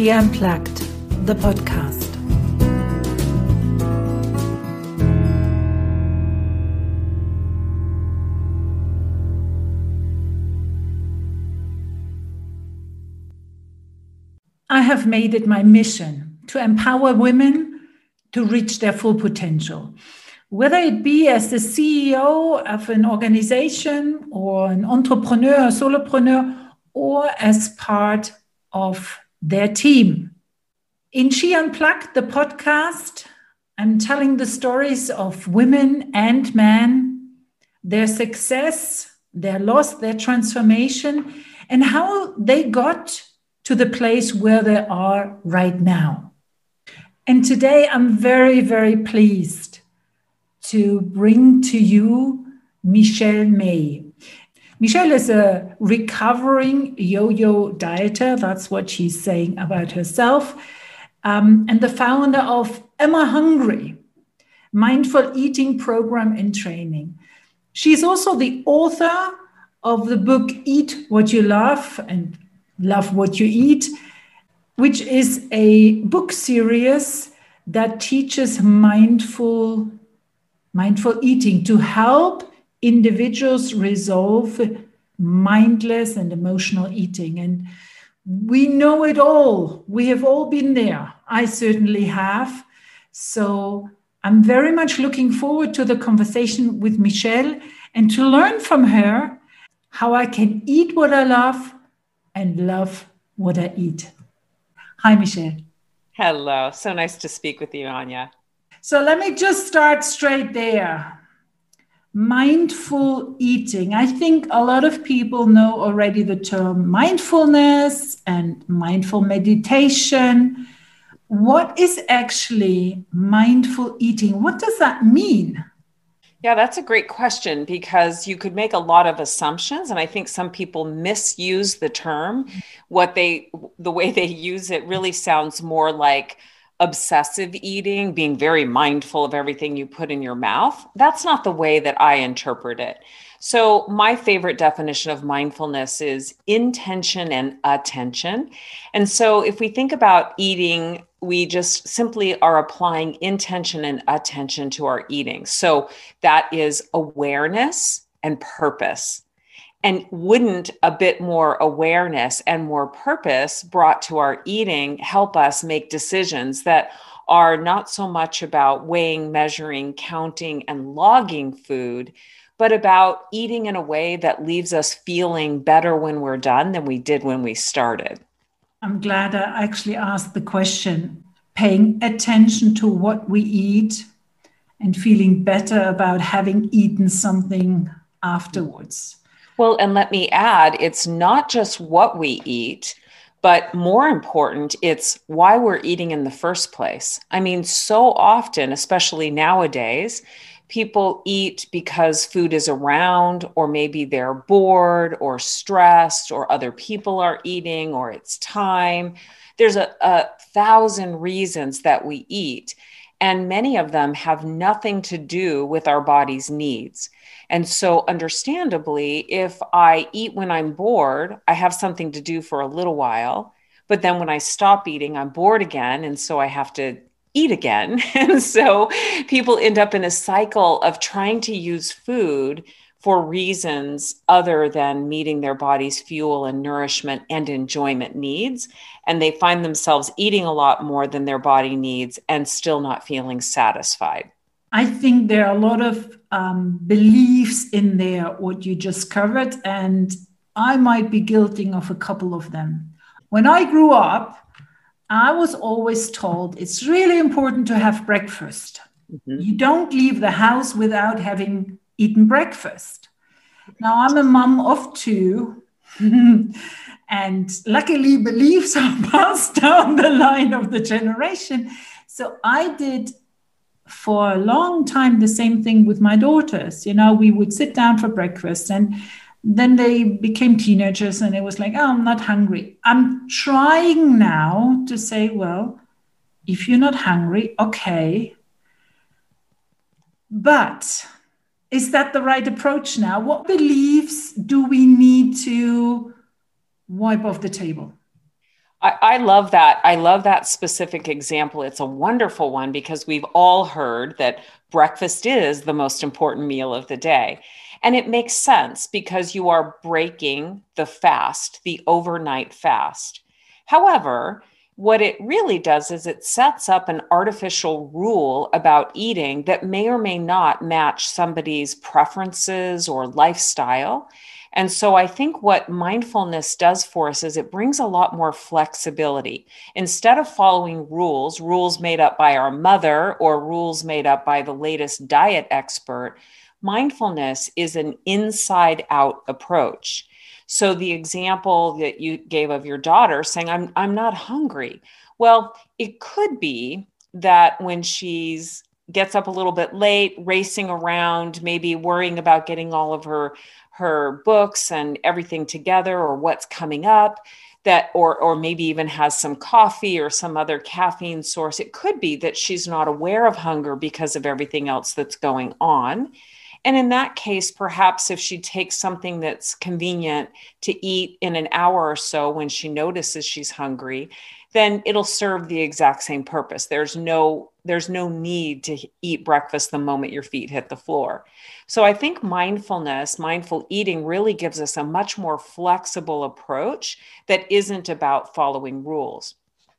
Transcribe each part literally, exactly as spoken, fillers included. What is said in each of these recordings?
She Unplugged, the podcast. I have made it my mission to empower women to reach their full potential. Whether it be as the C E O of an organization or an entrepreneur, a solopreneur, or as part of their team. In She Unplugged, the podcast, I'm telling the stories of women and men, their success, their loss, their transformation, and how they got to the place where they are right now. And today I'm very, very pleased to bring to you Michelle May. Michelle is a recovering yo-yo dieter. That's what she's saying about herself. Um, and the founder of Emma Hungry, mindful eating program and training. She's also the author of the book Eat What You Love and Love What You Eat, which is a book series that teaches mindful Mindful eating to help individuals resolve mindless and emotional eating. And we know it all. We have all been there. I certainly have. So I'm very much looking forward to the conversation with Michelle and to learn from her how I can eat what I love and love what I eat. Hi, Michelle. Hello. So nice to speak with you, Anya. So let me just start straight there. Mindful eating. I think a lot of people know already the term mindfulness and mindful meditation. What is actually mindful eating? What does that mean? Yeah, that's a great question because you could make a lot of assumptions. And I think some people misuse the term. What they, the way they use it really sounds more like obsessive eating, being very mindful of everything you put in your mouth. That's not the way that I interpret it. So my favorite definition of mindfulness is intention and attention. And so if we think about eating, we just simply are applying intention and attention to our eating. So that is awareness and purpose. And wouldn't a bit more awareness and more purpose brought to our eating help us make decisions that are not so much about weighing, measuring, counting, and logging food, but about eating in a way that leaves us feeling better when we're done than we did when we started? I'm glad I actually asked the question. Paying attention to what we eat and feeling better about having eaten something afterwards. Well, and let me add, it's not just what we eat, but more important, it's why we're eating in the first place. I mean, so often, especially nowadays, people eat because food is around, or maybe they're bored or stressed, or other people are eating, or it's time. There's a, a thousand reasons that we eat, and many of them have nothing to do with our body's needs. And so understandably, if I eat when I'm bored, I have something to do for a little while, but then when I stop eating, I'm bored again. And so I have to eat again. And so people end up in a cycle of trying to use food for reasons other than meeting their body's fuel and nourishment and enjoyment needs. And they find themselves eating a lot more than their body needs and still not feeling satisfied. I think there are a lot of um, beliefs in there, what you just covered, and I might be guilty of a couple of them. When I grew up, I was always told it's really important to have breakfast. Mm-hmm. You don't leave the house without having eaten breakfast. Now, I'm a mom of two, and luckily beliefs are passed down the line of the generation. So I did for a long time the same thing with my daughters. You know, we would sit down for breakfast, and then they became teenagers, and it was like, oh, I'm not hungry. I'm trying now to say, well, if you're not hungry, okay. But is that the right approach now? What beliefs do we need to wipe off the table? I, I love that. I love that specific example. It's a wonderful one because we've all heard that breakfast is the most important meal of the day. And it makes sense because you are breaking the fast, the overnight fast. However, what it really does is it sets up an artificial rule about eating that may or may not match somebody's preferences or lifestyle. And so I think what mindfulness does for us is it brings a lot more flexibility. Instead of following rules, rules made up by our mother or rules made up by the latest diet expert, mindfulness is an inside out approach. So the example that you gave of your daughter saying, I'm, I'm not hungry. Well, it could be that when she's gets up a little bit late, racing around, maybe worrying about getting all of her her books and everything together or what's coming up, that or or maybe even has some coffee or some other caffeine source. It could be that she's not aware of hunger because of everything else that's going on. And in that case, perhaps if she takes something that's convenient to eat in an hour or so when she notices she's hungry, then it'll serve the exact same purpose. There's no there's no need to eat breakfast the moment your feet hit the floor. So I think mindfulness, mindful eating really gives us a much more flexible approach that isn't about following rules.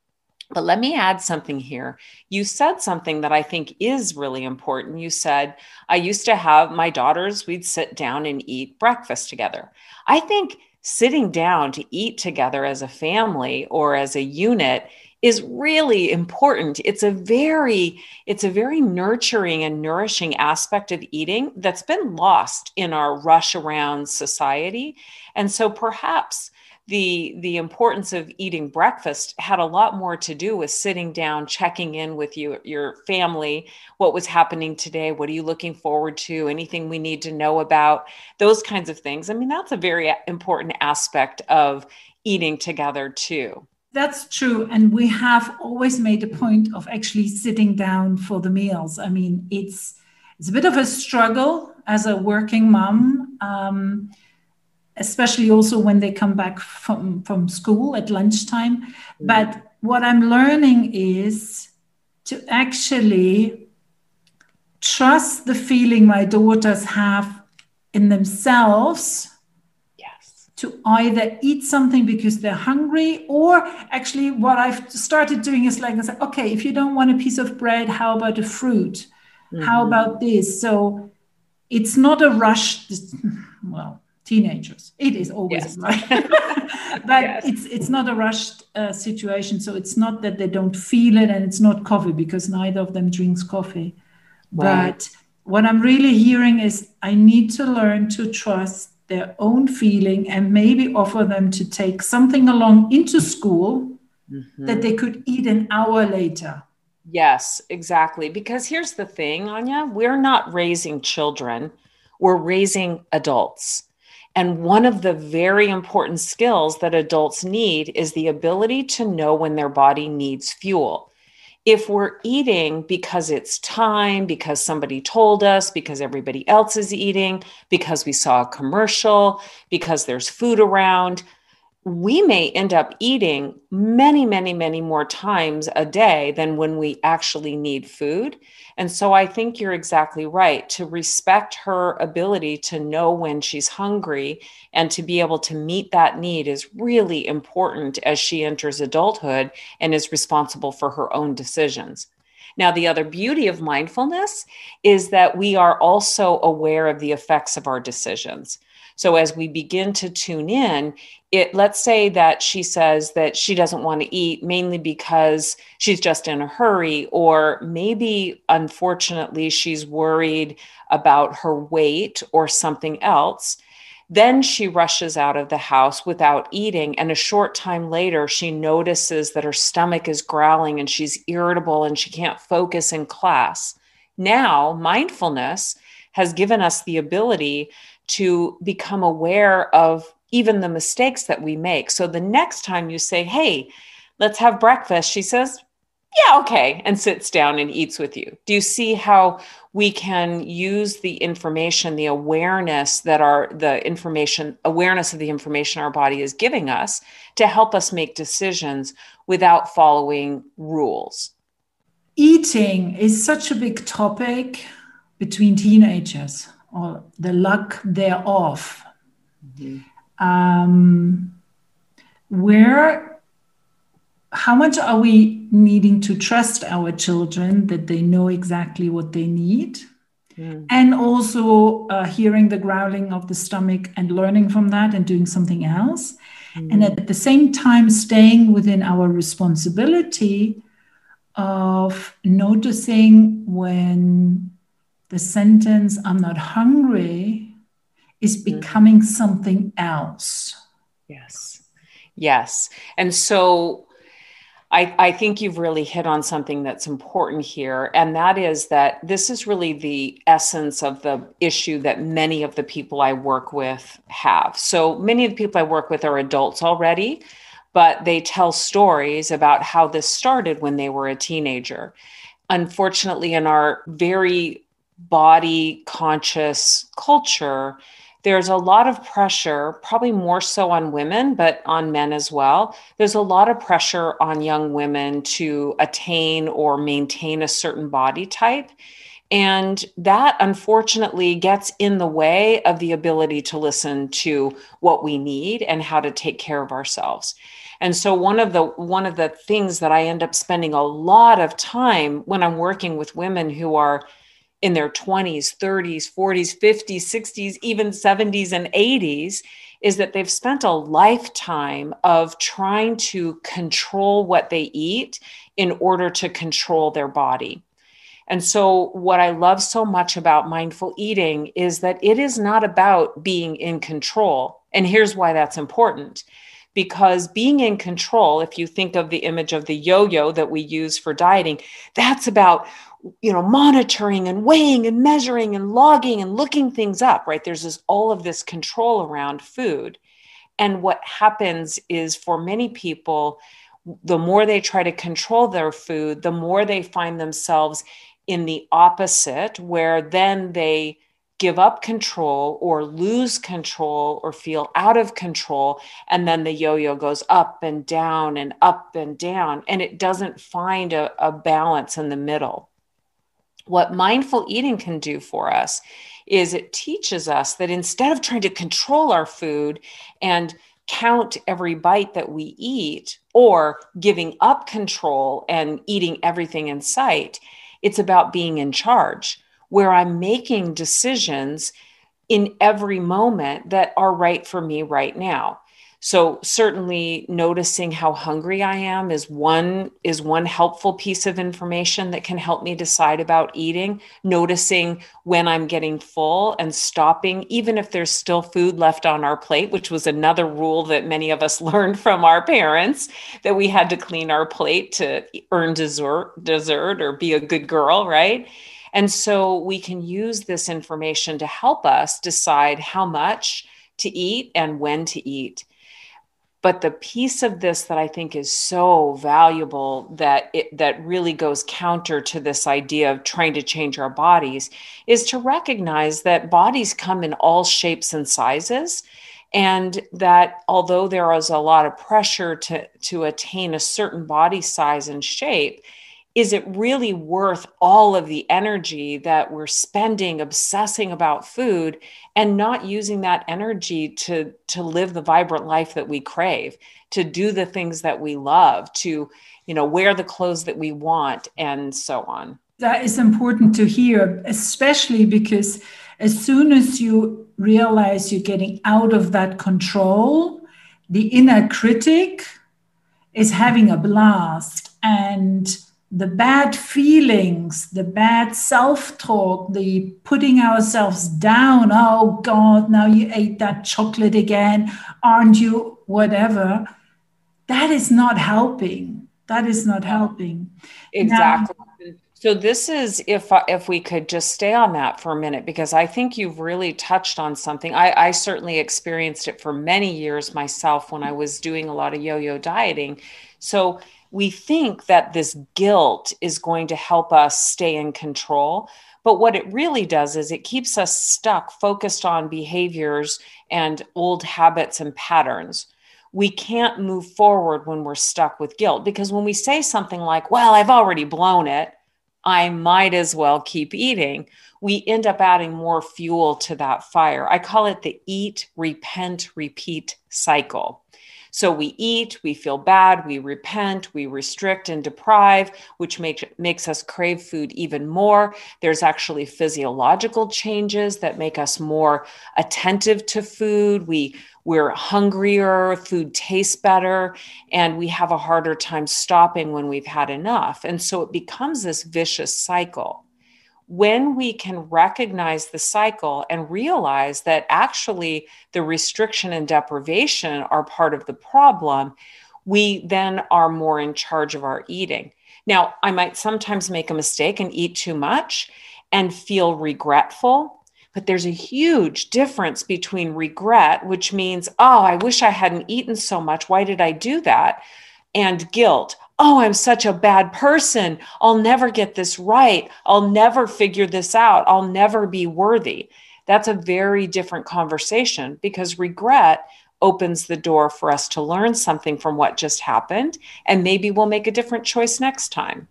But let me add something here. You said something that I think is really important. You said, I used to have my daughters, we'd sit down and eat breakfast together. I think sitting down to eat together as a family or as a unit is really important. It's a very, it's a very nurturing and nourishing aspect of eating that's been lost in our rush around society. And so perhaps the, the importance of eating breakfast had a lot more to do with sitting down, checking in with you, your family, what was happening today, what are you looking forward to, anything we need to know about, those kinds of things. I mean, that's a very important aspect of eating together too. That's true. And we have always made a point of actually sitting down for the meals. I mean, it's it's a bit of a struggle as a working mom, um, especially also when they come back from, from school at lunchtime. Mm-hmm. But what I'm learning is to actually trust the feeling my daughters have in themselves to either eat something because they're hungry, or actually what I've started doing is like, I say, okay, if you don't want a piece of bread, how about a fruit? Mm-hmm. How about this? So it's not a rush. Well, teenagers, it is always yes. right. But yes. it's it's not a rushed uh, situation. So it's not that they don't feel it, and it's not coffee because neither of them drinks coffee. Right. But what I'm really hearing is I need to learn to trust their own feeling and maybe offer them to take something along into school mm-hmm. that they could eat an hour later. Yes, exactly. Because here's the thing, Anya, we're not raising children, we're raising adults. And one of the very important skills that adults need is the ability to know when their body needs fuel. If we're eating because it's time, because somebody told us, because everybody else is eating, because we saw a commercial, because there's food around, we may end up eating many, many, many more times a day than when we actually need food. And so I think you're exactly right. To respect her ability to know when she's hungry and to be able to meet that need is really important as she enters adulthood and is responsible for her own decisions. Now, the other beauty of mindfulness is that we are also aware of the effects of our decisions. So as we begin to tune in, it, let's say that she says that she doesn't want to eat mainly because she's just in a hurry, or maybe, unfortunately, she's worried about her weight or something else. Then she rushes out of the house without eating. And a short time later, she notices that her stomach is growling and she's irritable and she can't focus in class. Now, mindfulness has given us the ability to become aware of even the mistakes that we make. So the next time you say, hey, let's have breakfast, she says, yeah, okay, and sits down and eats with you? Do you see how we can use the information, the awareness that our, the information, awareness of the information our body is giving us to help us make decisions without following rules? Eating is such a big topic between teenagers, or the lack thereof. Mm-hmm. Um, where How much are we needing to trust our children that they know exactly what they need? Mm. And also uh, hearing the growling of the stomach and learning from that and doing something else. Mm. And at the same time, staying within our responsibility of noticing when the sentence, "I'm not hungry," is becoming mm. something else. Yes. Yes. And so I, I think you've really hit on something that's important here. And that is that this is really the essence of the issue that many of the people I work with have. So many of the people I work with are adults already, but they tell stories about how this started when they were a teenager. Unfortunately, in our very body conscious culture, there's a lot of pressure, probably more so on women, but on men as well. There's a lot of pressure on young women to attain or maintain a certain body type. And that unfortunately gets in the way of the ability to listen to what we need and how to take care of ourselves. And so one of the one of the things that I end up spending a lot of time when I'm working with women who are in their twenties, thirties, forties, fifties, sixties, even seventies and eighties, is that they've spent a lifetime of trying to control what they eat in order to control their body. And so what I love so much about mindful eating is that it is not about being in control. And here's why that's important. Because being in control, if you think of the image of the yo-yo that we use for dieting, that's about, you know, monitoring and weighing and measuring and logging and looking things up, right? There's this, all of this control around food. And what happens is for many people, the more they try to control their food, the more they find themselves in the opposite, where then they give up control or lose control or feel out of control. And then the yo-yo goes up and down and up and down, and it doesn't find a, a balance in the middle. What mindful eating can do for us is it teaches us that instead of trying to control our food and count every bite that we eat or giving up control and eating everything in sight, it's about being in charge, where I'm making decisions in every moment that are right for me right now. So certainly noticing how hungry I am is one is one helpful piece of information that can help me decide about eating. Noticing when I'm getting full and stopping, even if there's still food left on our plate, which was another rule that many of us learned from our parents, that we had to clean our plate to earn dessert, dessert or be a good girl, right? And so we can use this information to help us decide how much to eat and when to eat. But the piece of this that I think is so valuable that it, that really goes counter to this idea of trying to change our bodies is to recognize that bodies come in all shapes and sizes. And that although there is a lot of pressure to, to attain a certain body size and shape, is it really worth all of the energy that we're spending obsessing about food and not using that energy to, to live the vibrant life that we crave, to do the things that we love, to, you know, wear the clothes that we want, and so on? That is important to hear, especially because as soon as you realize you're getting out of that control, the inner critic is having a blast, and the bad feelings, the bad self-talk, the putting ourselves down, oh God, now you ate that chocolate again, aren't you, whatever, that is not helping. That is not helping. Exactly. Now, so this is, if if we could just stay on that for a minute, because I think you've really touched on something. I, I certainly experienced it for many years myself when I was doing a lot of yo-yo dieting. So we think that this guilt is going to help us stay in control. But what it really does is it keeps us stuck, focused on behaviors and old habits and patterns. We can't move forward when we're stuck with guilt, because when we say something like, well, I've already blown it, I might as well keep eating, we end up adding more fuel to that fire. I call it the eat, repent, repeat cycle. So we eat, we feel bad, we repent, we restrict and deprive, which makes makes us crave food even more. There's actually physiological changes that make us more attentive to food. We, we're hungrier, food tastes better, and we have a harder time stopping when we've had enough. And so it becomes this vicious cycle. When we can recognize the cycle and realize that actually the restriction and deprivation are part of the problem, we then are more in charge of our eating. Now, I might sometimes make a mistake and eat too much and feel regretful, but there's a huge difference between regret, which means, oh, I wish I hadn't eaten so much. Why did I do that? And guilt. Oh, I'm such a bad person. I'll never get this right. I'll never figure this out. I'll never be worthy. That's a very different conversation, because regret opens the door for us to learn something from what just happened. And maybe we'll make a different choice next time.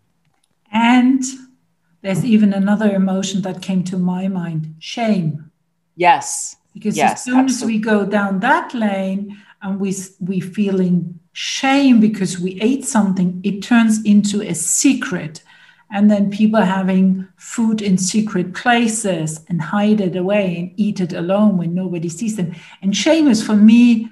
And there's even another emotion that came to my mind, shame. Yes. Because yes, as soon absolutely. as we go down that lane and we we feeling shame because we ate something, it turns into a secret. And then people having food in secret places and hide it away and eat it alone when nobody sees them. And shame is, for me,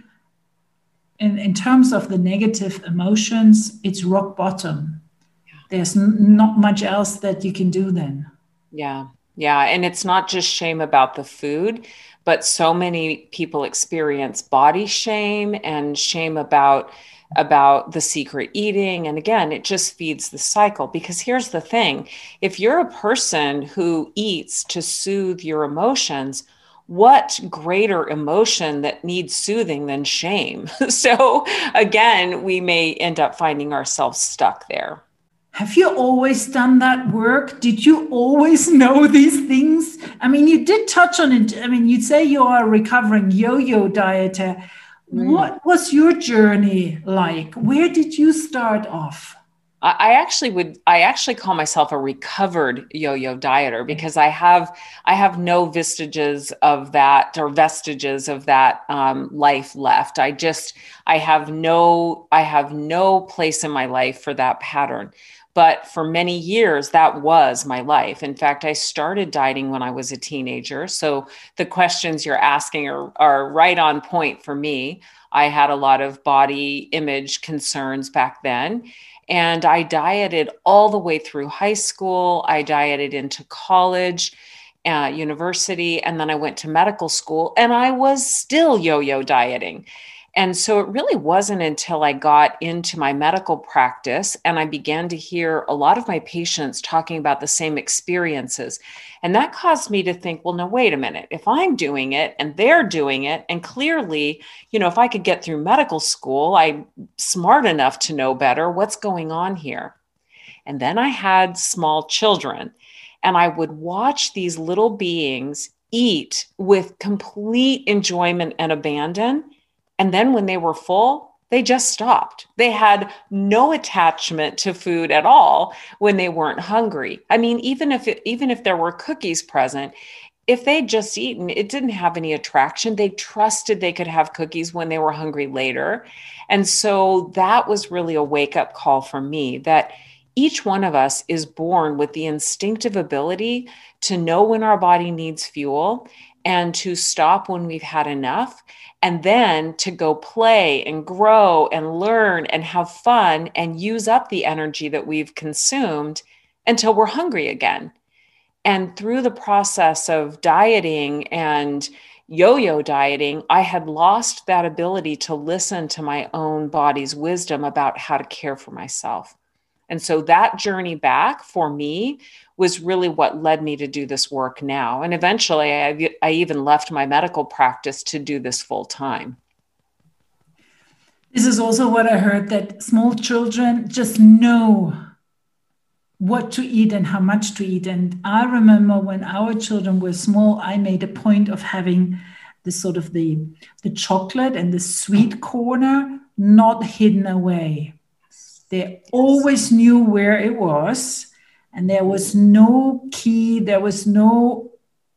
in, in terms of the negative emotions, it's rock bottom. Yeah. There's n- not much else that you can do then. Yeah. Yeah. And it's not just shame about the food, but so many people experience body shame and shame about about the secret eating. And again, it just feeds the cycle, because here's the thing. If you're a person who eats to soothe your emotions, what greater emotion that needs soothing than shame? So again, we may end up finding ourselves stuck there. Have you always done that work? Did you always know these things? I mean, you did touch on it. I mean, you say you are a recovering yo-yo dieter. Mm. What was your journey like? Where did you start off? I actually would, I actually call myself a recovered yo-yo dieter, because I have, I have no vestiges of that or vestiges of that um, life left. I just, I have no, I have no place in my life for that pattern. But for many years, that was my life. In fact, I started dieting when I was a teenager. So the questions you're asking are, are right on point for me. I had a lot of body image concerns back then. And I dieted all the way through high school. I dieted into college, uh, university, and then I went to medical school, and I was still yo-yo dieting. And so it really wasn't until I got into my medical practice and I began to hear a lot of my patients talking about the same experiences. And that caused me to think, well, no, wait a minute. If I'm doing it and they're doing it, and clearly, you know, if I could get through medical school, I'm smart enough to know better what's going on here. And then I had small children, and I would watch these little beings eat with complete enjoyment and abandon. And then when they were full, they just stopped. They had no attachment to food at all when they weren't hungry. I mean, even if it, even if there were cookies present, if they'd just eaten, it didn't have any attraction. They trusted they could have cookies when they were hungry later. And so that was really a wake-up call for me, that each one of us is born with the instinctive ability to know when our body needs fuel and to stop when we've had enough, and then to go play and grow and learn and have fun and use up the energy that we've consumed until we're hungry again. And through the process of dieting and yo-yo dieting, I had lost that ability to listen to my own body's wisdom about how to care for myself. And so that journey back for me was really what led me to do this work now. And eventually I, I even left my medical practice to do this full time. This is also what I heard, that small children just know what to eat and how much to eat. And I remember when our children were small, I made a point of having this sort of the, the chocolate and the sweet corner not hidden away. They always knew where it was, and there was no key, there was no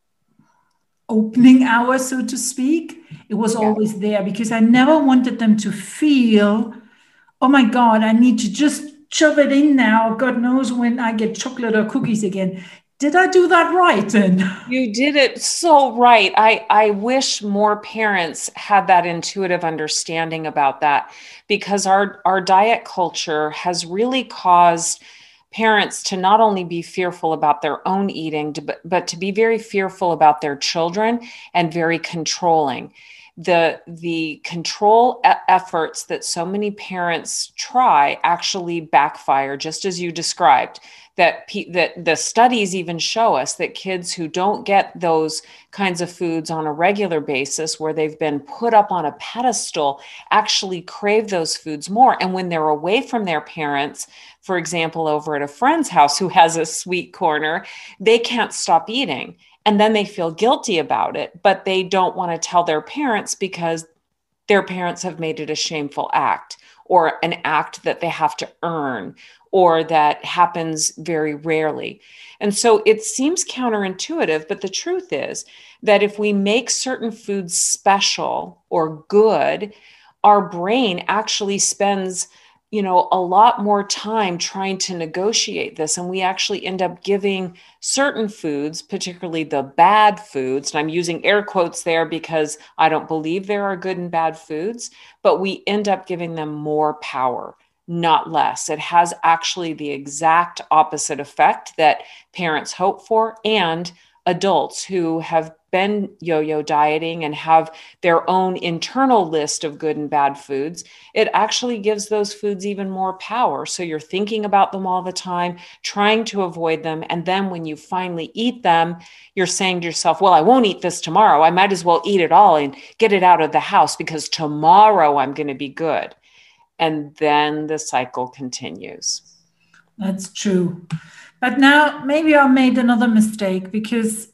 opening hour, so to speak. It was yeah. always there, because I never wanted them to feel, oh my God, I need to just shove it in now. God knows when I get chocolate or cookies again. Did I do that right then? You did it so right. I, I wish more parents had that intuitive understanding about that, because our, our diet culture has really caused parents to not only be fearful about their own eating, but, but to be very fearful about their children and very controlling. The, the control e- efforts that so many parents try actually backfire, just as you described. That, pe- that the studies even show us that kids who don't get those kinds of foods on a regular basis, where they've been put up on a pedestal, actually crave those foods more. And when they're away from their parents, for example, over at a friend's house who has a sweet corner, they can't stop eating. And then they feel guilty about it, but they don't want to tell their parents because their parents have made it a shameful act, or an act that they have to earn, or that happens very rarely. And so it seems counterintuitive, but the truth is that if we make certain foods special or good, our brain actually spends, you know, a lot more time trying to negotiate this. And we actually end up giving certain foods, particularly the bad foods, and I'm using air quotes there because I don't believe there are good and bad foods, but we end up giving them more power, not less. It has actually the exact opposite effect that parents hope for, and adults who have been yo-yo dieting and have their own internal list of good and bad foods. It actually gives those foods even more power. So you're thinking about them all the time, trying to avoid them. And then when you finally eat them, you're saying to yourself, well, I won't eat this tomorrow. I might as well eat it all and get it out of the house, because tomorrow I'm going to be good. And then the cycle continues. That's true. But now maybe I made another mistake, because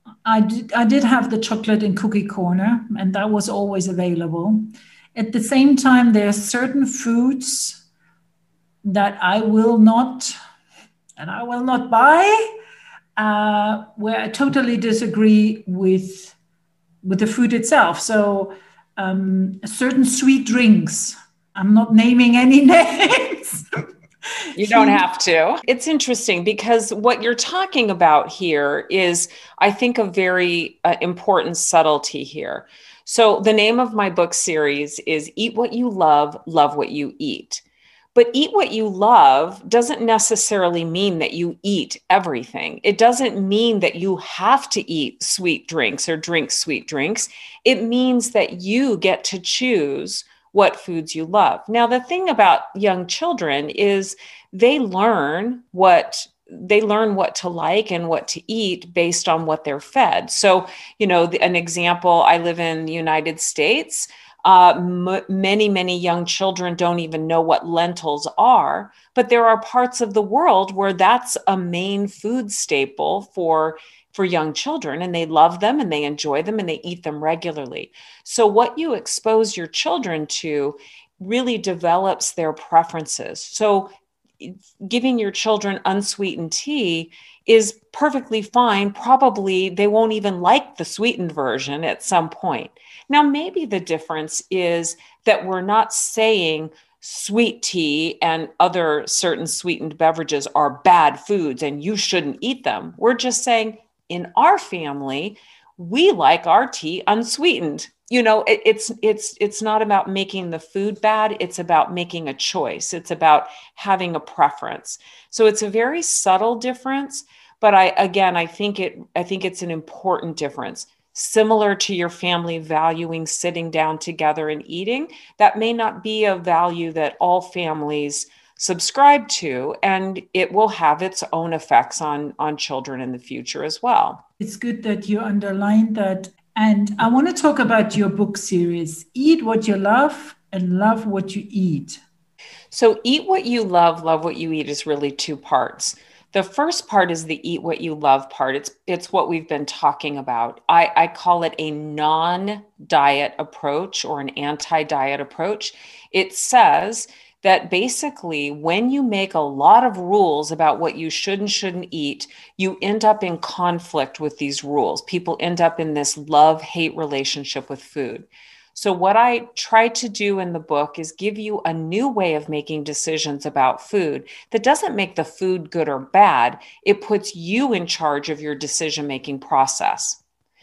I did, I did have the chocolate and cookie corner, and that was always available. At the same time, there are certain foods that I will not, and I will not buy, uh, where I totally disagree with, with the food itself. So um, certain sweet drinks, I'm not naming any names. You don't have to. It's interesting, because what you're talking about here is, I think, a very uh, important subtlety here. So the name of my book series is Eat What You Love, Love What You Eat. But eat what you love doesn't necessarily mean that you eat everything. It doesn't mean that you have to eat sweet drinks or drink sweet drinks. It means that you get to choose what foods you love. Now, the thing about young children is they learn what they learn what to like and what to eat based on what they're fed. So, you know, the, an example, I live in the United States. Uh, m- many, many young children don't even know what lentils are, but there are parts of the world where that's a main food staple for for young children, and they love them and they enjoy them and they eat them regularly. So what you expose your children to really develops their preferences. So giving your children unsweetened tea is perfectly fine. Probably they won't even like the sweetened version at some point. Now, maybe the difference is that we're not saying sweet tea and other certain sweetened beverages are bad foods and you shouldn't eat them. We're just saying, in our family, we like our tea unsweetened. You know, it, it's it's it's not about making the food bad. It's about making a choice. It's about having a preference. So it's a very subtle difference, but I again, I think it I think it's an important difference. Similar to your family valuing sitting down together and eating, that may not be a value that all families subscribe to, and it will have its own effects on, on children in the future as well. It's good that you underlined that. And I want to talk about your book series, Eat What You Love, and love what you eat? So eat what you love, love what you eat is really two parts. The first part is the eat what you love part. It's it's what we've been talking about. I, I call it a non-diet approach or an anti-diet approach. It says that basically when you make a lot of rules about what you should and shouldn't eat, you end up in conflict with these rules. People end up in this love-hate relationship with food. So what I try to do in the book is give you a new way of making decisions about food that doesn't make the food good or bad. It puts you in charge of your decision-making process.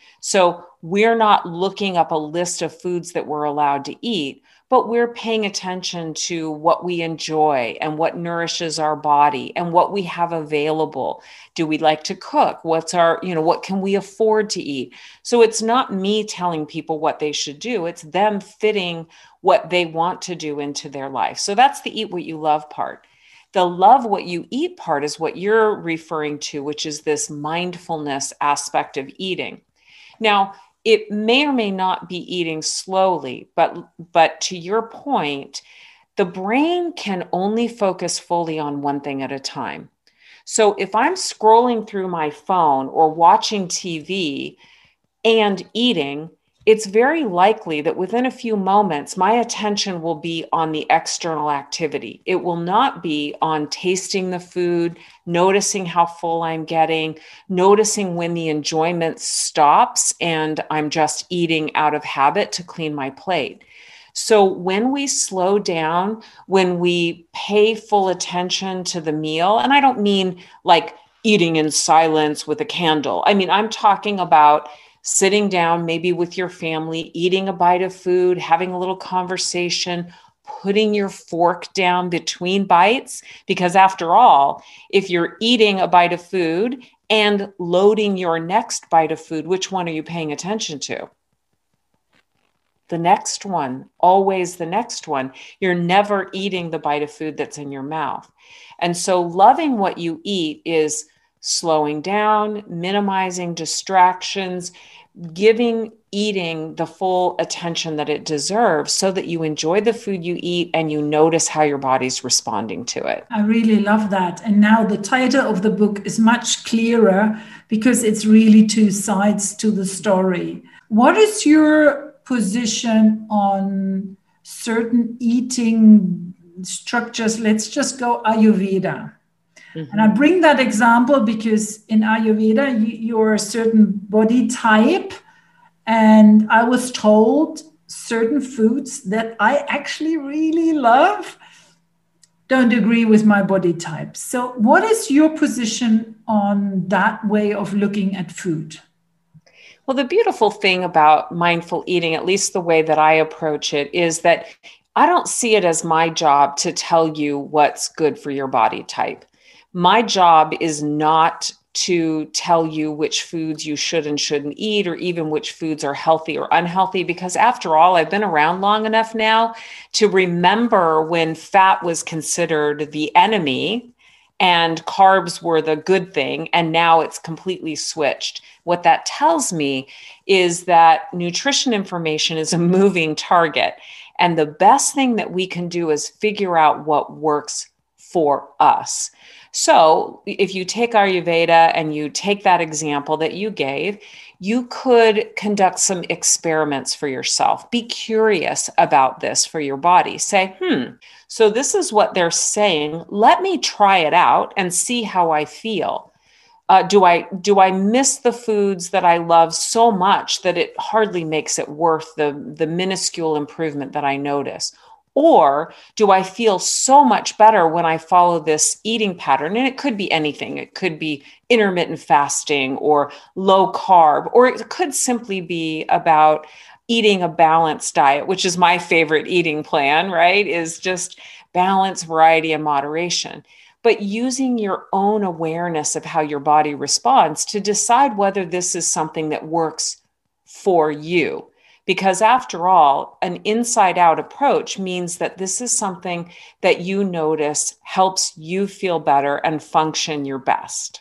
So we're not looking up a list of foods that we're allowed to eat, but we're paying attention to what we enjoy and what nourishes our body and what we have available. Do we like to cook? What's our, you know, what can we afford to eat? So it's not me telling people what they should do. It's them fitting what they want to do into their life. So that's the eat what you love part. The love what you eat part is what you're referring to, which is this mindfulness aspect of eating. Now, it may or may not be eating slowly, but, but to your point, the brain can only focus fully on one thing at a time. So if I'm scrolling through my phone or watching T V and eating, it's very likely that within a few moments, my attention will be on the external activity. It will not be on tasting the food, noticing how full I'm getting, noticing when the enjoyment stops and I'm just eating out of habit to clean my plate. So when we slow down, when we pay full attention to the meal, and I don't mean like eating in silence with a candle. I mean, I'm talking about sitting down, maybe with your family, eating a bite of food, having a little conversation, putting your fork down between bites. Because after all, if you're eating a bite of food and loading your next bite of food, which one are you paying attention to? The next one, always the next one. You're never eating the bite of food that's in your mouth. And so loving what you eat is slowing down, minimizing distractions, giving eating the full attention that it deserves so that you enjoy the food you eat and you notice how your body's responding to it. I really love that. And now the title of the book is much clearer because it's really two sides to the story. What is your position on certain eating structures? Let's just go Ayurveda. Mm-hmm. And I bring that example because in Ayurveda, you, you're a certain body type. And I was told certain foods that I actually really love don't agree with my body type. So what is your position on that way of looking at food? Well, the beautiful thing about mindful eating, at least the way that I approach it, is that I don't see it as my job to tell you what's good for your body type. My job is not to tell you which foods you should and shouldn't eat, or even which foods are healthy or unhealthy, because after all, I've been around long enough now to remember when fat was considered the enemy and carbs were the good thing, and now it's completely switched. What that tells me is that nutrition information is a moving target, and the best thing that we can do is figure out what works for us. So if you take Ayurveda and you take that example that you gave, you could conduct some experiments for yourself. Be curious about this for your body. Say, hmm, so this is what they're saying. Let me try it out and see how I feel. Uh, do I do I miss the foods that I love so much that it hardly makes it worth the, the minuscule improvement that I notice? Or do I feel so much better when I follow this eating pattern? And it could be anything. It could be intermittent fasting or low carb, or it could simply be about eating a balanced diet, which is my favorite eating plan, right? Is just balance, variety, and moderation. But using your own awareness of how your body responds to decide whether this is something that works for you. Because after all, an inside-out approach means that this is something that you notice helps you feel better and function your best.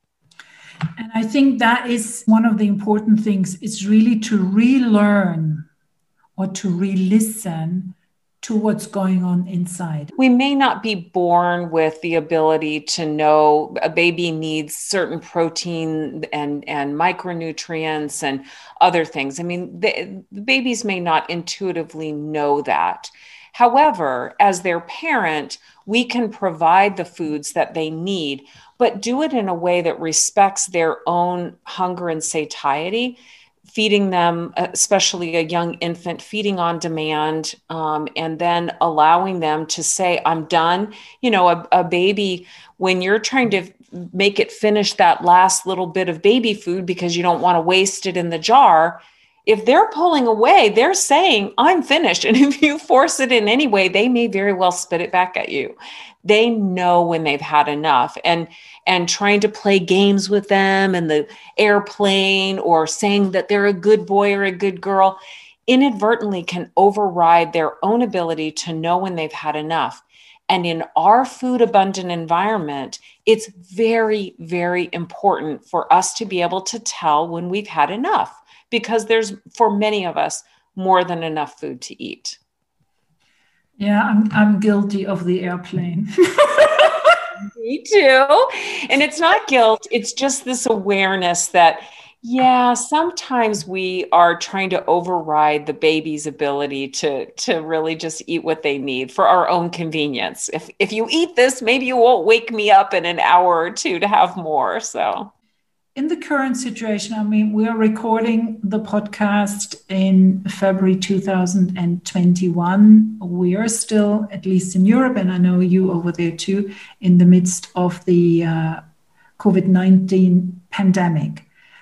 And I think that is one of the important things, is really to relearn or to re-listen to what's going on inside. We may not be born with the ability to know a baby needs certain protein and, and micronutrients and other things. I mean, the, the babies may not intuitively know that. However, as their parent, we can provide the foods that they need, but do it in a way that respects their own hunger and satiety. Feeding them, especially a young infant, feeding on demand, um, and then allowing them to say, I'm done. You know, a, a baby, when you're trying to make it finish that last little bit of baby food because you don't want to waste it in the jar, if they're pulling away, they're saying, I'm finished. And if you force it in any way, they may very well spit it back at you. They know when they've had enough. And and trying to play games with them and the airplane or saying that they're a good boy or a good girl inadvertently can override their own ability to know when they've had enough. And in our food abundant environment, it's very, very important for us to be able to tell when we've had enough, because there's, for many of us, more than enough food to eat. Yeah, I'm I'm guilty of the airplane. Me too. And it's not guilt. It's just this awareness that, yeah, sometimes we are trying to override the baby's ability to, to really just eat what they need for our own convenience. If if you eat this, maybe you won't wake me up in an hour or two to have more. So in the current situation, I mean, we are recording the podcast in February two thousand twenty-one. We are still, at least in Europe, and I know you over there too, in the midst of the uh, COVID nineteen pandemic.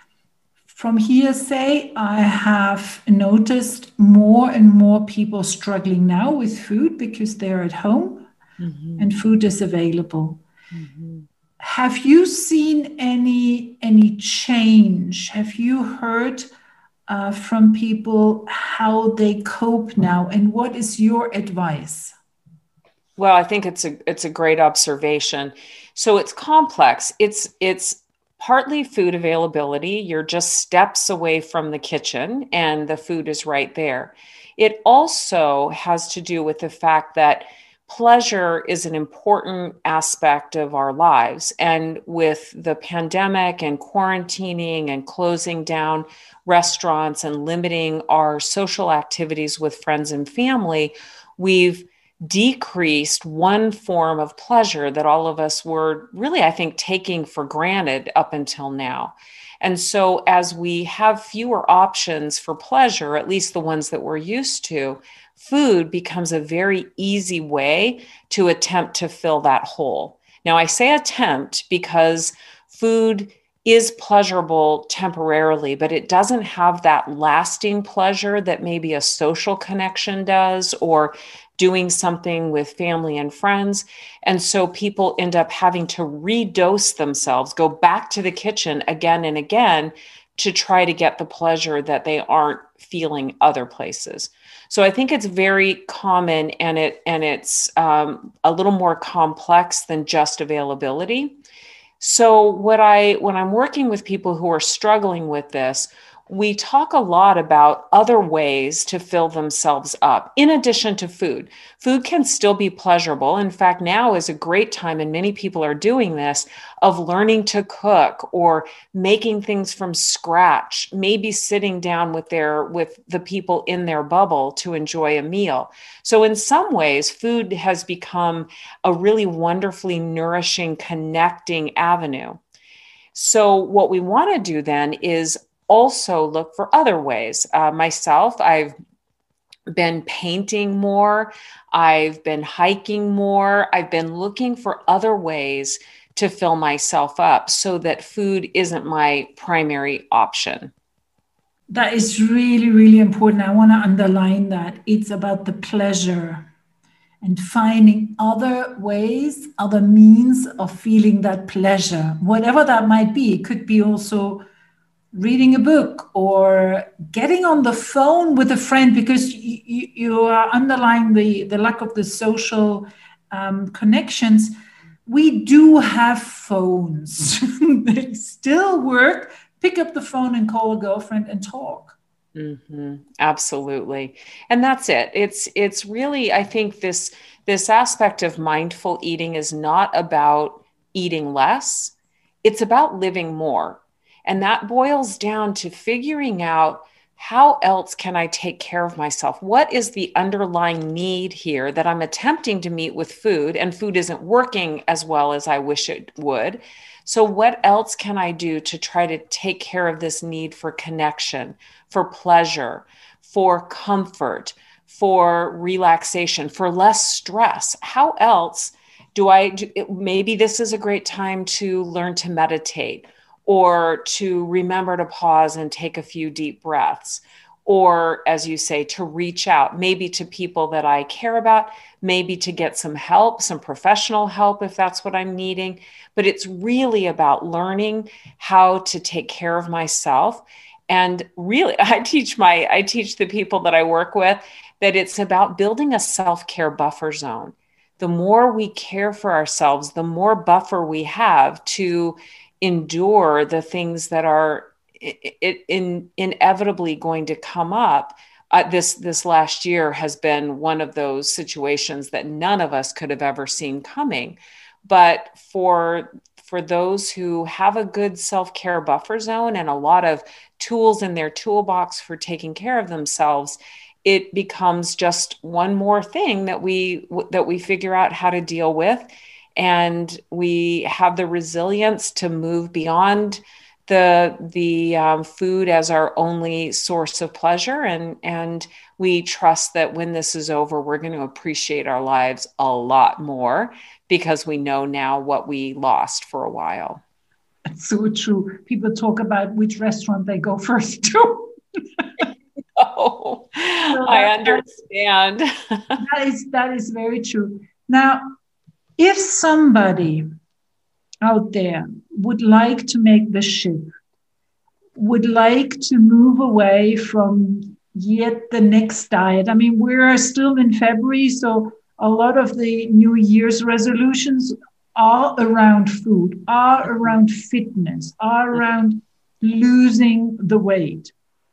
From hearsay, I have noticed more and more people struggling now with food because they're at home, mm-hmm. and food is available. Mm-hmm. Have you seen any any change? Have you heard uh, from people how they cope now, and what is your advice? Well, I think it's a it's a great observation. So it's complex. It's it's partly food availability. You're just steps away from the kitchen, and the food is right there. It also has to do with the fact that pleasure is an important aspect of our lives. And with the pandemic and quarantining and closing down restaurants and limiting our social activities with friends and family, we've decreased one form of pleasure that all of us were really, I think, taking for granted up until now. And so as we have fewer options for pleasure, at least the ones that we're used to, food becomes a very easy way to attempt to fill that hole. Now, I say attempt because food is pleasurable temporarily, but it doesn't have that lasting pleasure that maybe a social connection does, or doing something with family and friends. And so people end up having to redose themselves, go back to the kitchen again and again to try to get the pleasure that they aren't feeling other places. So I think it's very common, and it and it's um, a little more complex than just availability. So what I when I'm working with people who are struggling with this, we talk a lot about other ways to fill themselves up in addition to food. Food can still be pleasurable. In fact, now is a great time, and many people are doing this, of learning to cook or making things from scratch, maybe sitting down with their with the people in their bubble to enjoy a meal. So in some ways, food has become a really wonderfully nourishing, connecting avenue. So what we want to do then is also look for other ways. Uh, myself, I've been painting more. I've been hiking more. I've been looking for other ways to fill myself up so that food isn't my primary option. That is really, really important. I want to underline that. It's about the pleasure and finding other ways, other means of feeling that pleasure, whatever that might be. It could be also reading a book or getting on the phone with a friend, because you, you are underlying the, the lack of the social um, connections. We do have phones. They still work. Pick up the phone and call a girlfriend and talk. Mm-hmm. Absolutely. And that's it. It's it's really, I think this this aspect of mindful eating is not about eating less. It's about living more. And that boils down to figuring out how else can I take care of myself? What is the underlying need here that I'm attempting to meet with food, and food isn't working as well as I wish it would? So, what else can I do to try to take care of this need for connection, for pleasure, for comfort, for relaxation, for less stress? How else do I do? Maybe this is a great time to learn to meditate, or to remember to pause and take a few deep breaths, or, as you say, to reach out, maybe to people that I care about, maybe to get some help, some professional help if that's what I'm needing. But it's really about learning how to take care of myself. And really, I teach my, I teach the people that I work with that it's about building a self-care buffer zone. The more we care for ourselves, the more buffer we have to endure the things that are it, in, inevitably going to come up. Uh, this this last year has been one of those situations that none of us could have ever seen coming. But for for those who have a good self-care buffer zone and a lot of tools in their toolbox for taking care of themselves, it becomes just one more thing that we that we figure out how to deal with. And we have the resilience to move beyond the the um, food as our only source of pleasure, and and we trust that when this is over, we're going to appreciate our lives a lot more because we know now what we lost for a while. That's so true. People talk about which restaurant they go first to. Oh, so I understand. that is that is very true. Now, if somebody out there would like to make the shift, would like to move away from yet the next diet. I mean, we're still in February, so a lot of the New Year's resolutions are around food, are around fitness, are around losing the weight.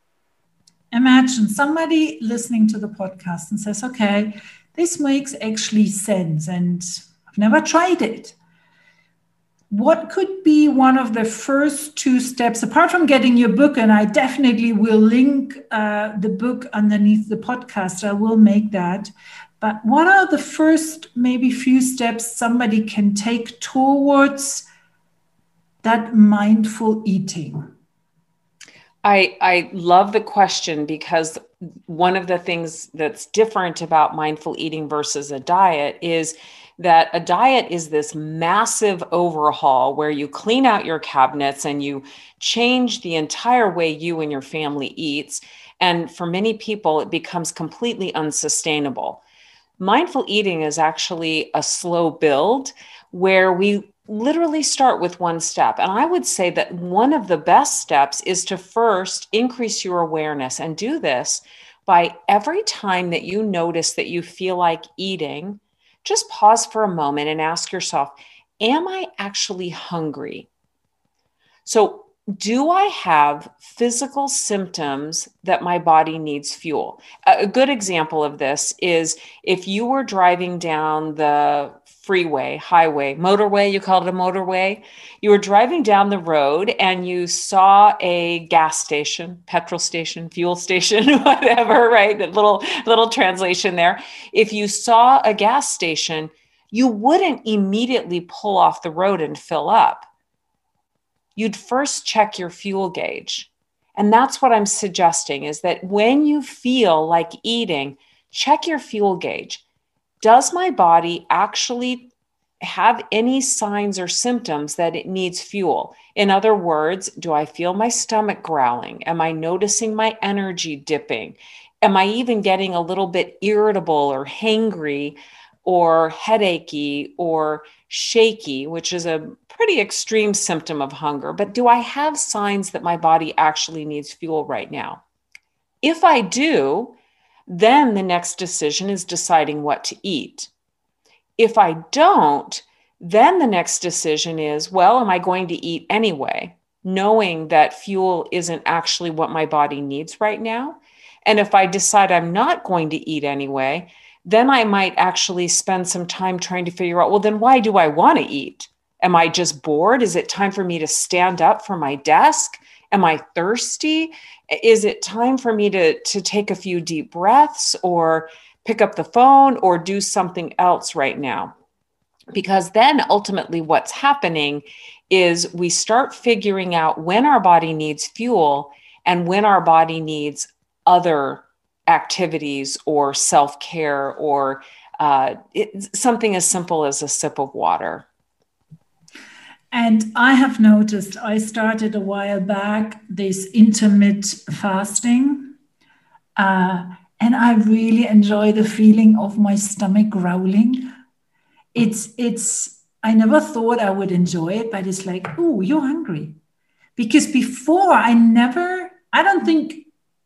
Imagine somebody listening to the podcast and says, okay, this makes actually sense and I've never tried it. What could be one of the first two steps, apart from getting your book, and I definitely will link uh, the book underneath the podcast, I will make that. But what are the first maybe few steps somebody can take towards that mindful eating? I, I love the question, because one of the things that's different about mindful eating versus a diet is that a diet is this massive overhaul where you clean out your cabinets and you change the entire way you and your family eats. And for many people, it becomes completely unsustainable. Mindful eating is actually a slow build where we literally start with one step. And I would say that one of the best steps is to first increase your awareness, and do this by every time that you notice that you feel like eating, just pause for a moment and ask yourself, am I actually hungry? So, do I have physical symptoms that my body needs fuel? A good example of this is if you were driving down the freeway, highway, motorway, you called it a motorway. You were driving down the road and you saw a gas station, petrol station, fuel station, whatever, right? That little, little translation there. If you saw a gas station, you wouldn't immediately pull off the road and fill up. You'd first check your fuel gauge. And that's what I'm suggesting, is that when you feel like eating, check your fuel gauge. Does my body actually have any signs or symptoms that it needs fuel? In other words, do I feel my stomach growling? Am I noticing my energy dipping? Am I even getting a little bit irritable or hangry or headachy or shaky, which is a pretty extreme symptom of hunger? But do I have signs that my body actually needs fuel right now? If I do, then the next decision is deciding what to eat. If I don't, then the next decision is, well, am I going to eat anyway? knowing that fuel isn't actually what my body needs right now. And if I decide I'm not going to eat anyway, then I might actually spend some time trying to figure out, well, then why do I want to eat? Am I just bored? Is it time for me to stand up from my desk? Am I thirsty? Is it time for me to, to take a few deep breaths or pick up the phone or do something else right now? Because then ultimately what's happening is we start figuring out when our body needs fuel and when our body needs other activities or self-care or uh, it, something as simple as a sip of water. And I have noticed, I started a while back this intermittent fasting, uh, and I really enjoy the feeling of my stomach growling. It's, it's, I never thought I would enjoy it, but it's like, oh, you're hungry. Because before I never, I don't think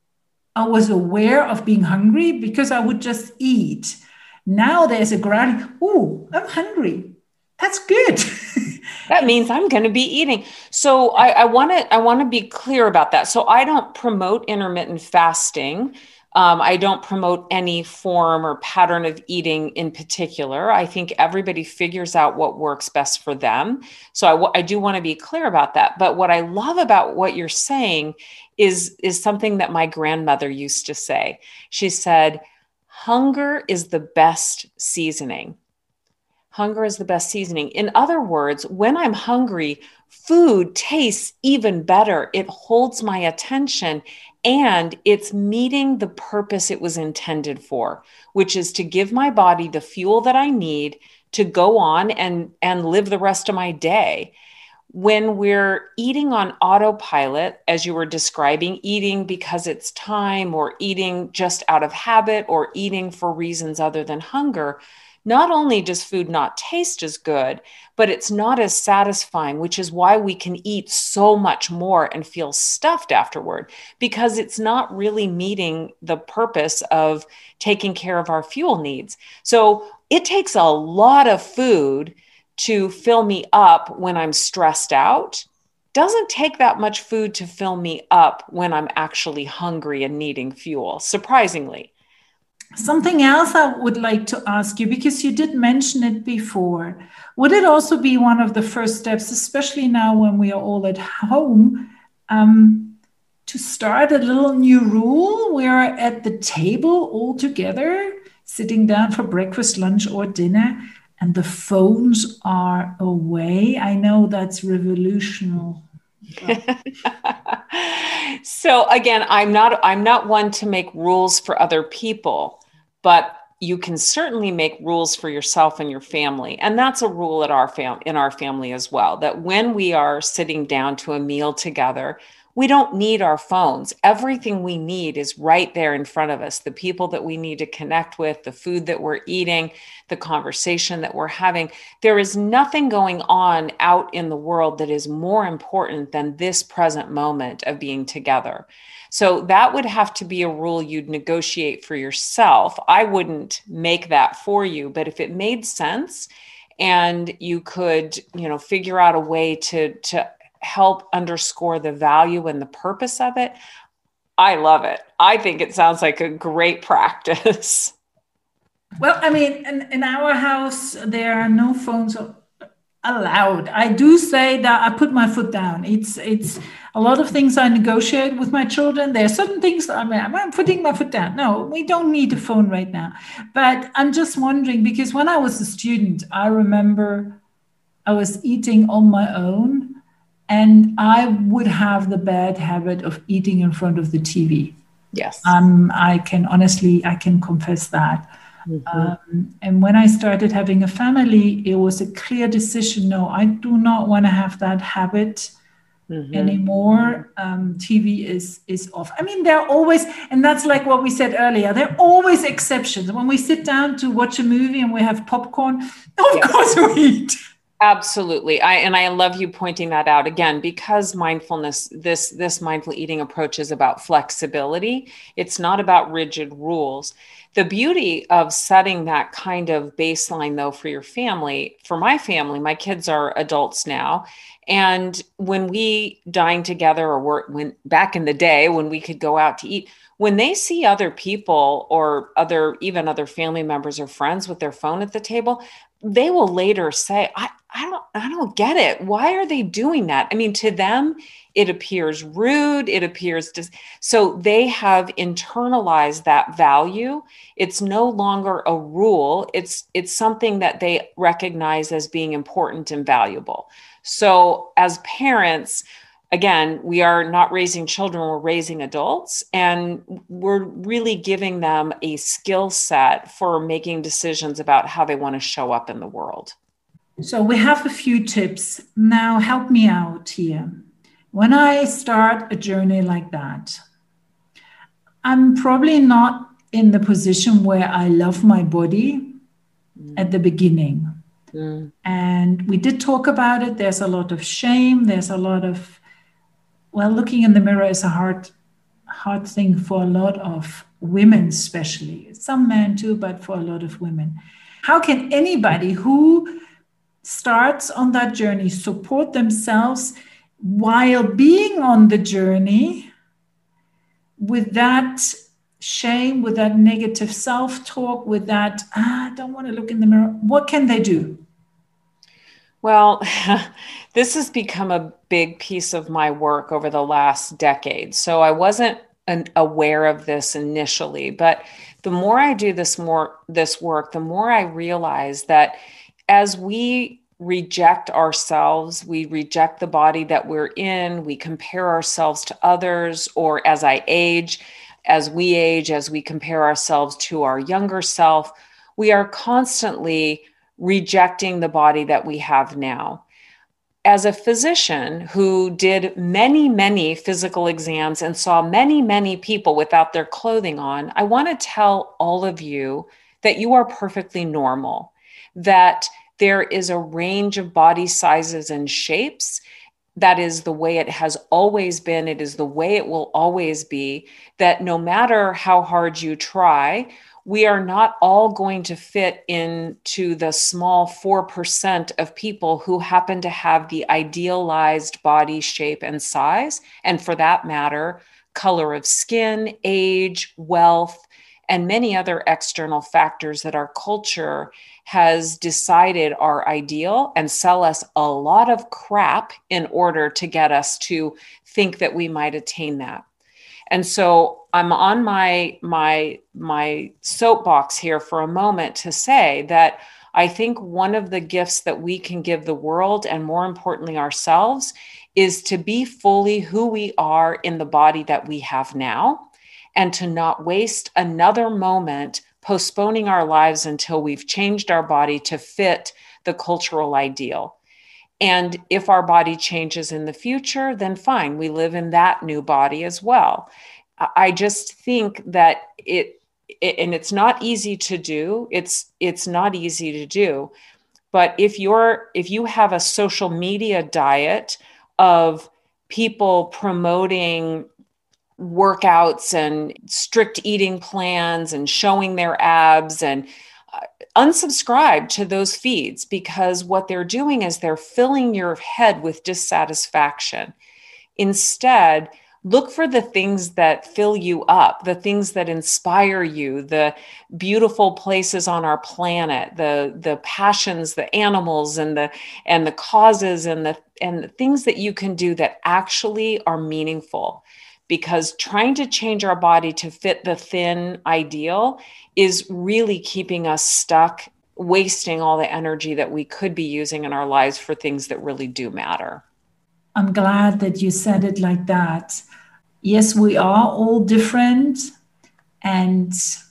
I was aware of being hungry because I would just eat. Now there's a growling, oh, I'm hungry. That's good. That means I'm going to be eating. So I want to I want to be clear about that. So I don't promote intermittent fasting. Um, I don't promote any form or pattern of eating in particular. I think everybody figures out what works best for them. So I, w- I do want to be clear about that. But what I love about what you're saying is, is something that my grandmother used to say. She said, hunger is the best seasoning. Hunger is the best seasoning. In other words, when I'm hungry, food tastes even better. It holds my attention and it's meeting the purpose it was intended for, which is to give my body the fuel that I need to go on and, and live the rest of my day. When we're eating on autopilot, as you were describing, eating because it's time or eating just out of habit or eating for reasons other than hunger, not only does food not taste as good, but it's not as satisfying, which is why we can eat so much more and feel stuffed afterward, because it's not really meeting the purpose of taking care of our fuel needs. So it takes a lot of food to fill me up when I'm stressed out. Doesn't take that much food to fill me up when I'm actually hungry and needing fuel, surprisingly. Something else I would like to ask you, because you did mention it before, would it also be one of the first steps, especially now when we are all at home, um, to start a little new rule? We're at the table all together, sitting down for breakfast, lunch, or dinner, and the phones are away. I know that's revolutionary. So again, I'm not I'm not one to make rules for other people, but you can certainly make rules for yourself and your family. And that's a rule at our fam- in our family as well, that when we are sitting down to a meal together, we don't need our phones. Everything we need is right there in front of us. The people that we need to connect with, the food that we're eating, the conversation that we're having. There is nothing going on out in the world that is more important than this present moment of being together. So that would have to be a rule you'd negotiate for yourself. I wouldn't make that for you, but if it made sense and you could, you know, figure out a way to, to help underscore the value and the purpose of it, I love it. I think it sounds like a great practice. Well, I mean, in, in our house, there are no phones allowed. I do say that I put my foot down. It's it's a lot of things I negotiate with my children. There are certain things I mean, I'm putting my foot down. No, we don't need a phone right now. But I'm just wondering, because when I was a student, I remember I was eating on my own. And I would have the bad habit of eating in front of the T V. Yes. Um, I can honestly, I can confess that. Mm-hmm. Um, and when I started having a family, it was a clear decision. No, I do not want to have that habit mm-hmm. anymore. Um, T V is is off. I mean, there are always, and that's like what we said earlier, there are always exceptions. When we sit down to watch a movie and we have popcorn, of yes. course we eat. Absolutely. I and I love you pointing that out again, because mindfulness, this this mindful eating approach is about flexibility. It's not about rigid rules. The beauty of setting that kind of baseline though for your family, for my family, my kids are adults now. And when we dine together, or were, when back in the day when we could go out to eat, when they see other people or other, even other family members or friends with their phone at the table, they will later say, I, I don't, I don't get it. Why are they doing that? I mean, to them, it appears rude. It appears dis- so they have internalized that value. It's no longer a rule. It's, it's something that they recognize as being important and valuable. So as parents, again, we are not raising children, we're raising adults, and we're really giving them a skill set for making decisions about how they want to show up in the world. So we have a few tips. Now help me out here. When I start a journey like that, I'm probably not in the position where I love my body mm. at the beginning. Mm. And we did talk about it. There's a lot of shame. There's a lot of, well, looking in the mirror is a hard, hard thing for a lot of women, especially. Some men too, but for a lot of women. How can anybody who starts on that journey support themselves while being on the journey with that shame, with that negative self-talk, with that, ah, I don't want to look in the mirror? What can they do? Well, this has become a big piece of my work over the last decade. So I wasn't an, aware of this initially, but the more I do this more this work, the more I realize that as we reject ourselves, we reject the body that we're in, we compare ourselves to others, or as I age, as we age, as we compare ourselves to our younger self, we are constantly rejecting the body that we have now. As a physician who did many, many physical exams and saw many, many people without their clothing on, I want to tell all of you that you are perfectly normal, that there is a range of body sizes and shapes. That is the way it has always been. It is the way it will always be, that no matter how hard you try, we are not all going to fit into the small four percent of people who happen to have the idealized body shape and size. And for that matter, color of skin, age, wealth, and many other external factors that our culture has decided are ideal and sell us a lot of crap in order to get us to think that we might attain that. And so I'm on my, my, my soapbox here for a moment to say that I think one of the gifts that we can give the world, and more importantly ourselves, is to be fully who we are in the body that we have now, and to not waste another moment postponing our lives until we've changed our body to fit the cultural ideal. And if our body changes in the future, then fine, we live in that new body as well. I just think that it, it and it's not easy to do. It's it's not easy to do. But if you're if you have a social media diet of people promoting workouts and strict eating plans and showing their abs, and uh, unsubscribe to those feeds, because what they're doing is they're filling your head with dissatisfaction. Instead, look for the things that fill you up, the things that inspire you, the beautiful places on our planet, the the passions, the animals, and the and the causes, and the and the things that you can do that actually are meaningful. Because trying to change our body to fit the thin ideal is really keeping us stuck, wasting all the energy that we could be using in our lives for things that really do matter. I'm glad that you said it like that. Yes, we are all different. And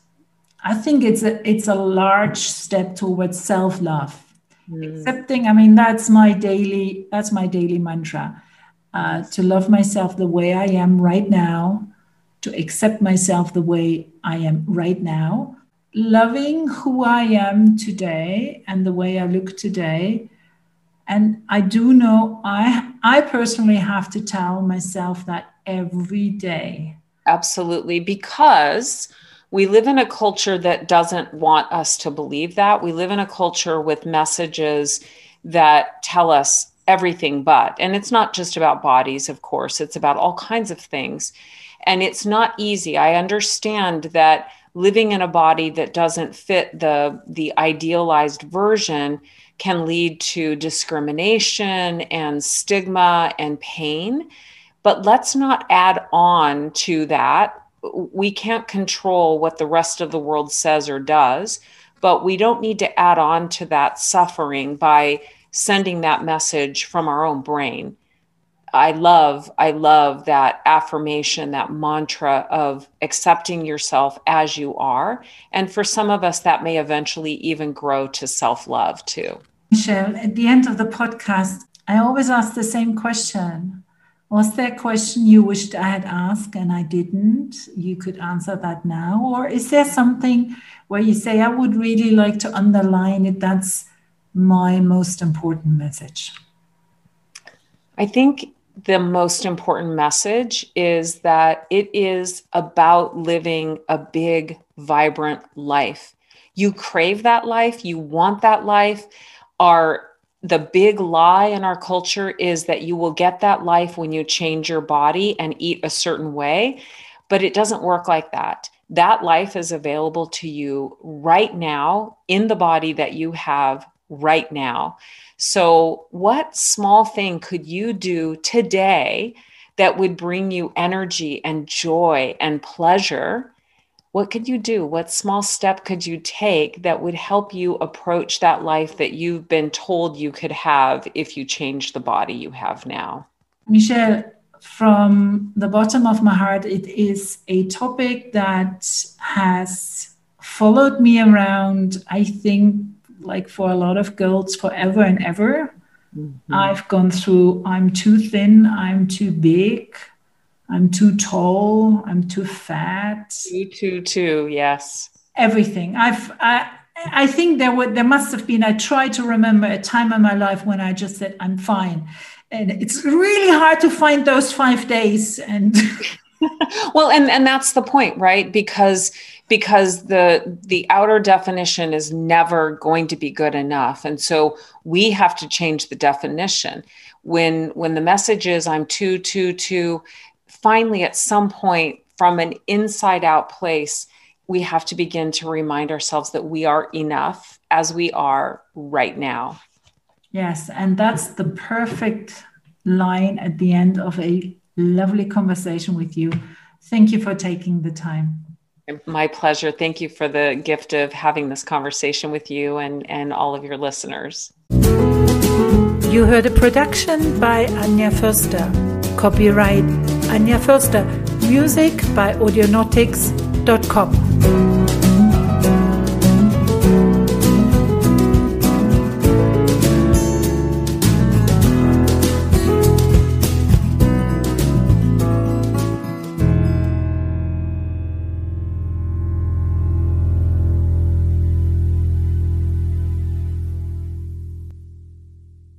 I think it's a, it's a large step towards self-love. Mm. Accepting, I mean, that's my daily, that's my daily mantra. Uh, to love myself the way I am right now, to accept myself the way I am right now, loving who I am today and the way I look today, And I do know I, I personally have to tell myself that every day. Absolutely, because we live in a culture that doesn't want us to believe that. We live in a culture with messages that tell us everything but. And it's not just about bodies, of course. It's about all kinds of things. And it's not easy. I understand that living in a body that doesn't fit the, the idealized version can lead to discrimination and stigma and pain. But let's not add on to that. We can't control what the rest of the world says or does, but we don't need to add on to that suffering by sending that message from our own brain. I love, I love that affirmation, that mantra of accepting yourself as you are. And for some of us, that may eventually even grow to self-love too. Michelle, at the end of the podcast, I always ask the same question. Was there a question you wished I had asked and I didn't? You could answer that now. Or is there something where you say, I would really like to underline it? That's my most important message. I think the most important message is that it is about living a big, vibrant life. You crave that life. You want that life. Our The big lie in our culture is that you will get that life when you change your body and eat a certain way, but it doesn't work like that. That life is available to you right now in the body that you have right now. So what small thing could you do today that would bring you energy and joy and pleasure? What could you do? What small step could you take that would help you approach that life that you've been told you could have if you change the body you have now? Michelle, from the bottom of my heart, it is a topic that has followed me around, I think, like for a lot of girls forever and ever. Mm-hmm. I've gone through, I'm too thin, I'm too big, I'm too tall, I'm too fat. Too, too, too, yes. Everything. I've, I, I think there were, there must have been, I try to remember a time in my life when I just said, I'm fine. And it's really hard to find those five days. And well, and, and that's the point, right? Because because the the outer definition is never going to be good enough. And so we have to change the definition. When when the message is I'm too, too, too, finally at some point from an inside out place, we have to begin to remind ourselves that we are enough as we are right now. Yes, and that's the perfect line at the end of a lovely conversation with you. Thank you for taking the time. My pleasure. Thank you for the gift of having this conversation with you and, and all of your listeners. You heard a production by Anja Förster. Copyright Anja Förster. Music by audionautics dot com.